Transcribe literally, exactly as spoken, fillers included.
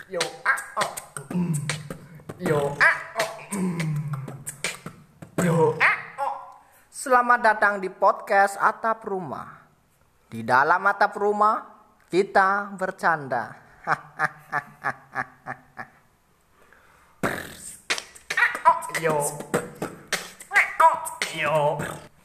Yo ah oh. Yo ah oh. Yo ah oh. Selamat datang di podcast Atap Rumah. Di dalam atap rumah kita bercanda. Yo. Yo.